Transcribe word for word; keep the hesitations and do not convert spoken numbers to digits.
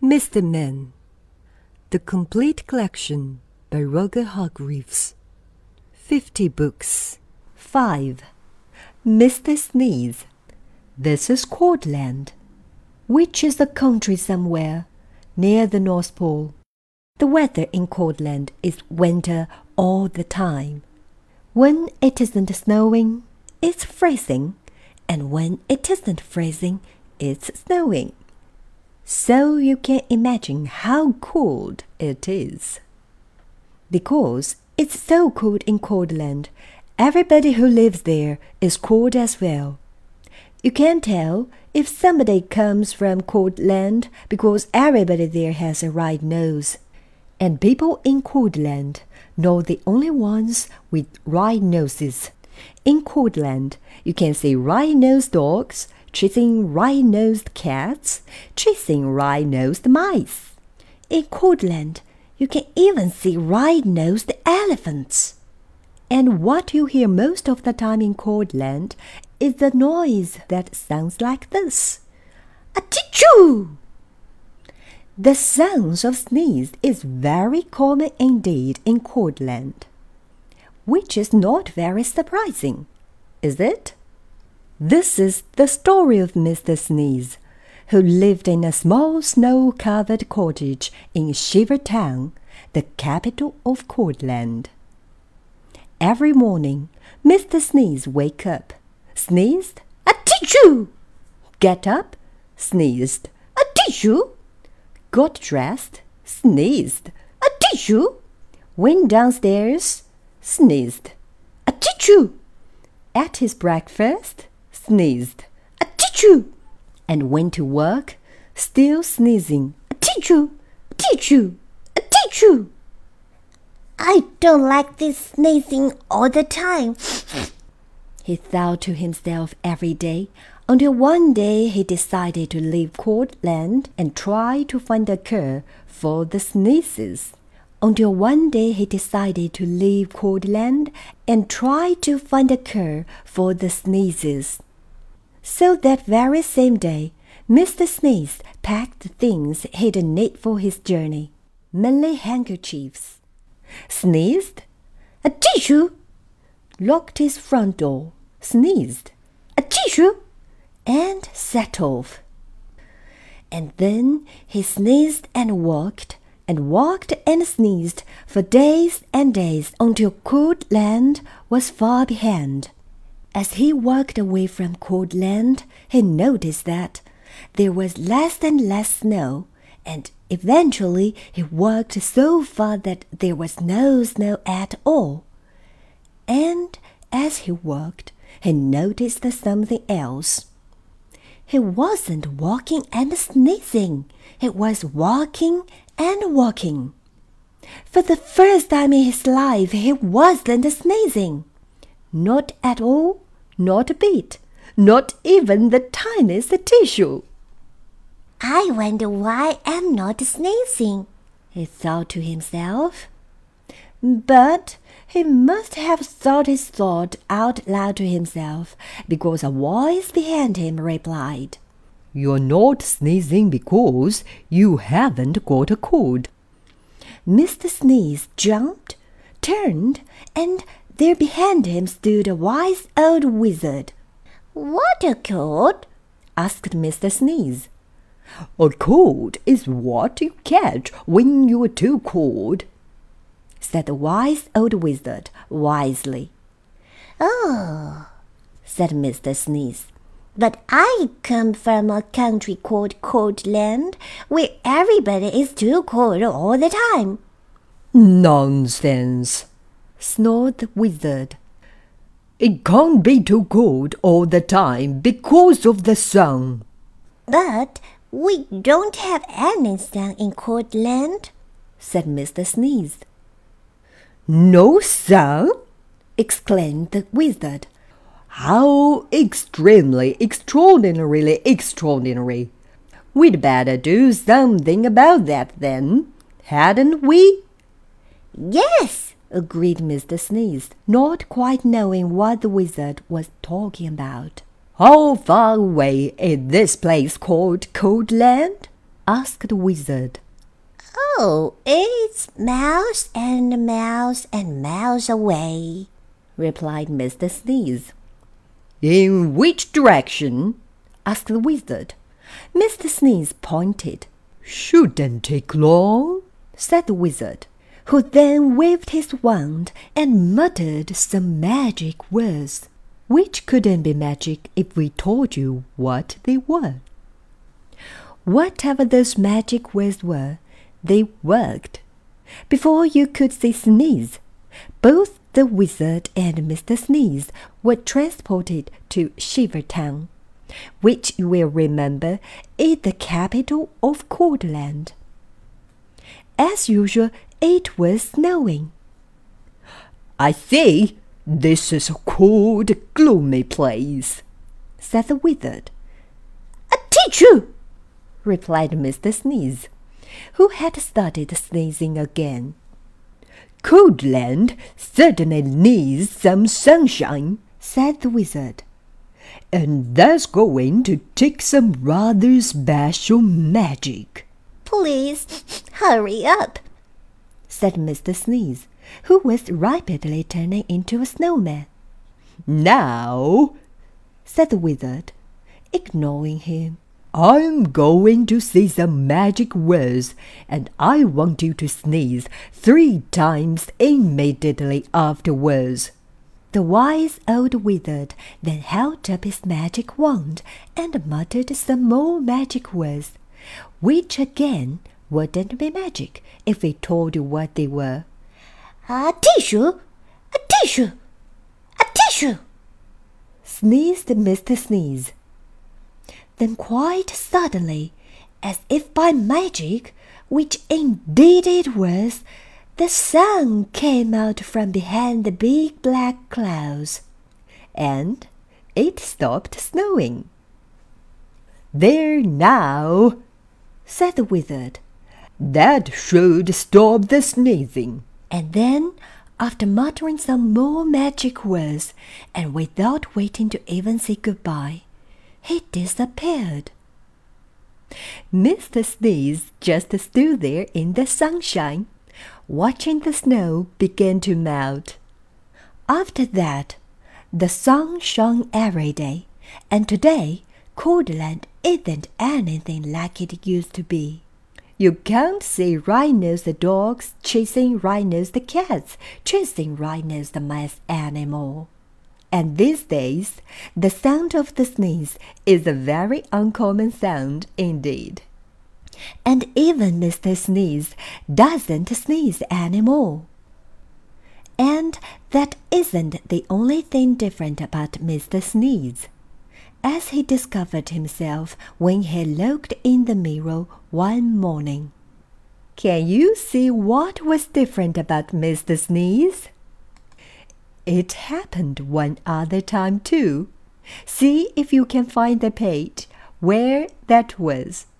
Mister Men, The Complete Collection by Roger Hargreaves. Fifty books. Five. Mister Sneeze. This is Cordland, which is a country somewhere near the North Pole. The weather in Cordland is winter all the time. When it isn't snowing, it's freezing, and when it isn't freezing, it's snowing. So you can imagine how cold it is. Because it's so cold in Cordland, everybody who lives there is cold as well. You can tell if somebody comes from Cordland because everybody there has a red nose. And people in Cordland know the only ones with red noses. In Cordland, you can see red-nosed dogs chasing red-nosed cats, chasing red-nosed mice. In Cordland, you can even see red-nosed elephants. And what you hear most of the time in Cordland is the noise that sounds like this. Achoo! The sound of sneeze is very common indeed in Cordland, which is not very surprising, is it? This is the story of Mister Sneeze, who lived in a small snow-covered cottage in Shiver Town, the capital of Cordland. Every morning, Mister Sneeze wake up, sneezed, achoo! Get up, sneezed, achoo! Got dressed, sneezed, achoo! Went downstairs, sneezed, achoo! Ate his breakfast, sneezed, achoo! And went to work, still sneezing, achoo! Achoo! Achoo! I don't like this sneezing all the time, he thought to himself every day, until one day he decided to leave Cordland and try to find a cure for the sneezes. Until one day he decided to leave Cordland and try to find a cure for the sneezes. So that very same day, Mister Sneeze packed the things he'd need for his journey, mainly handkerchiefs. Sneezed, achoo! Locked his front door, sneezed, achoo! And set off. And then he sneezed and walked, and walked and sneezed for days and days until Cordland was far behind. As he walked away from Cordland, he noticed that there was less and less snow, and eventually he walked so far that there was no snow at all. And as he walked, he noticed something else. He wasn't walking and sneezing. He was walking and walking. For the first time in his life, he wasn't sneezing. Not at all, not a bit, not even the tiniest tissue. I wonder why I'm not sneezing, he thought to himself. But he must have thought his thought out loud to himself, because a voice behind him replied, "You're not sneezing because you haven't got a cold." Mister Sneeze jumped, turned, and there behind him stood a wise old wizard. "What a cold?" asked Mister Sneeze. "A cold is what you catch when you're too cold," said the wise old wizard wisely. "Oh," said Mister Sneeze, "but I come from a country called Cordland, where everybody is too cold all the time." "Nonsense," snored the wizard. "It can't be too cold all the time because of the sun." "But we don't have any sun in Cordland," said Mister Sneeze. "No sun?" exclaimed the wizard. "How extremely, extraordinarily extraordinary! We'd better do something about that then, hadn't we?" "Yes," agreed Mister Sneeze, not quite knowing what the wizard was talking about. "How far away is this place called Cordland?" asked the Wizard. Oh, it's miles and miles and miles away, replied Mister Sneeze. In which direction? Asked the Wizard. Mister Sneeze pointed. Shouldn't take long, said the Wizard, who then waved his wand and muttered some magic words, which couldn't be magic if we told you what they were. Whatever those magic words were, they worked. Before you could say sneeze, both the Wizard and Mister Sneeze were transported to Shivertown, which you will remember is the capital of Coldland. As usual, it was snowing. I see this is a cold, gloomy place, said the Wizard. A teacher, replied Mister Sneeze, who had started sneezing again. Coldland certainly needs some sunshine, said the Wizard. And that's going to take some rather special magic. Please hurry up, said Mister Sneeze, who was rapidly turning into a snowman. Now, said the Wizard, ignoring him, I'm going to say some magic words, and I want you to sneeze three times immediately afterwards. The wise old Wizard then held up his magic wand and muttered some more magic words, which again wouldn't be magic if we told you what they were. A tissue, a tissue, a tissue, sneezed Mister Sneeze. Then quite suddenly, as if by magic, which indeed it was, the sun came out from behind the big black clouds, and it stopped snowing. There now, said the Wizard. That should stop the sneezing. And then, after muttering some more magic words, and without waiting to even say goodbye, he disappeared. Mister Sneeze just stood there in the sunshine, watching the snow begin to melt. After that, the sun shone every day, and today Coldland isn't anything like it used to be. You can't see Right-Nosed the dogs chasing Right-Nosed the cats, chasing Right-Nosed the mice anymore. And these days, the sound of the sneeze is a very uncommon sound indeed. And even Mister Sneeze doesn't sneeze anymore. And that isn't the only thing different about Mister Sneeze, as he discovered himself when he looked in the mirror one morning. Can you see what was different about Mister Sneeze? It happened one other time too. See if you can find the page where that was.